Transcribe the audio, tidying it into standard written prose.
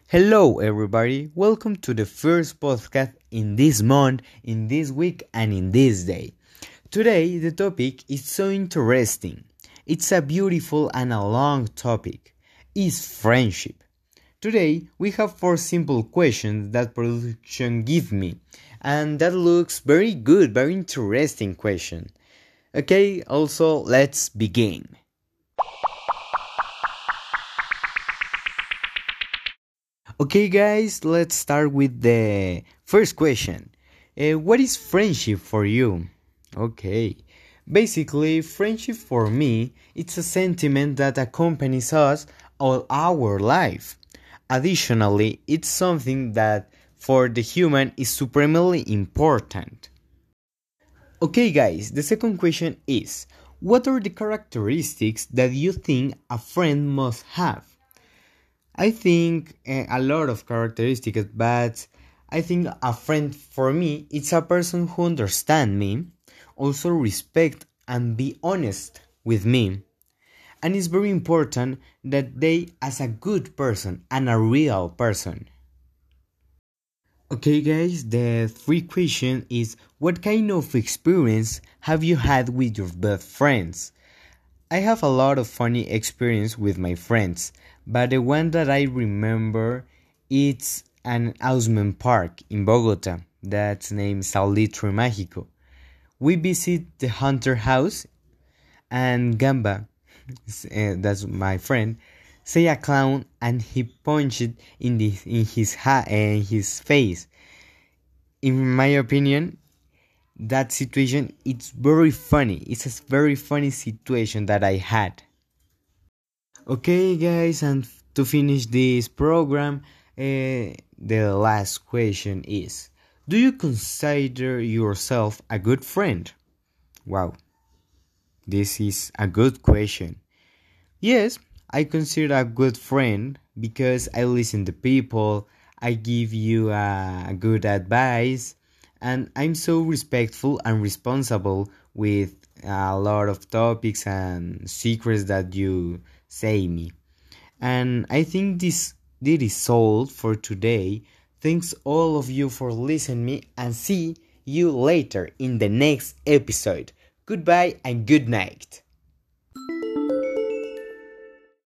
Hello, everybody. Welcome to the first podcast in this month, in this week, and in this day. Today, the topic is so interesting. It's a beautiful and a long topic. Is friendship. Today, we have four simple questions that production give me, and that looks very good, very interesting question. Okay, also let's begin. Okay, guys, let's start with the first question. What is friendship for you? Okay, basically, friendship for me it's a sentiment that accompanies us all our life. Additionally, it's something that for the human is supremely important. Okay, guys, the second question is what are the characteristics that you think a friend must have? I think a lot of characteristics, but I think a friend for me it's a person who understands me, also respect and be honest with me. And it's very important that they as a good person and a real person. Okay guys, the three question is what kind of experience have you had with your best friends? I have a lot of funny experience with my friends, but the one that I remember it's an amusement park in Bogota that's named Salitre Mágico. We visit the Hunter House and Gamba, that's my friend, say a clown and he punched it in his face. In my opinion, that situation it's very funny. It's a very funny situation that I had. Okay, guys, and to finish this program, the last question is: do you consider yourself a good friend? Wow, this is a good question. Yes, I consider a good friend because I listen to people, I give you a good advice, and I'm so respectful and responsible with a lot of topics and secrets that you say me. And I think this is all for today. Thanks all of you for listening me and see you later in the next episode. Goodbye and good night.